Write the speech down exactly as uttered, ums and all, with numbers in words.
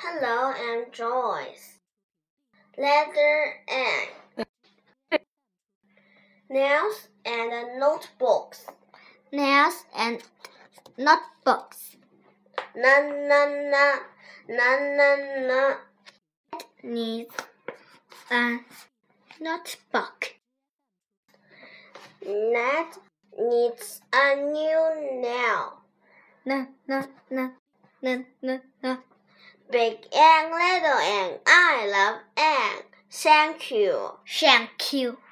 Hello, I'm Joyce. Letter N. Nails and notebooks. Nails and notebooks. Na na na na na na. Needs a notebook. Ned needs a new nail. Na na na na na na. Big and little and I love and thank you. Thank you.